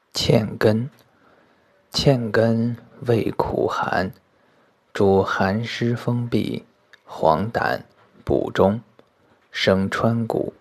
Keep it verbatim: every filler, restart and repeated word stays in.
芡根，芡根味苦寒，主寒湿风痹、黄疸、补中，生川谷，